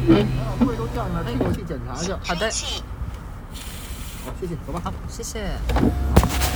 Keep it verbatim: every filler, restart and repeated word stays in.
胃都胀了，替我去检查一下。 好的， 好，谢谢，走吧。 好，谢谢。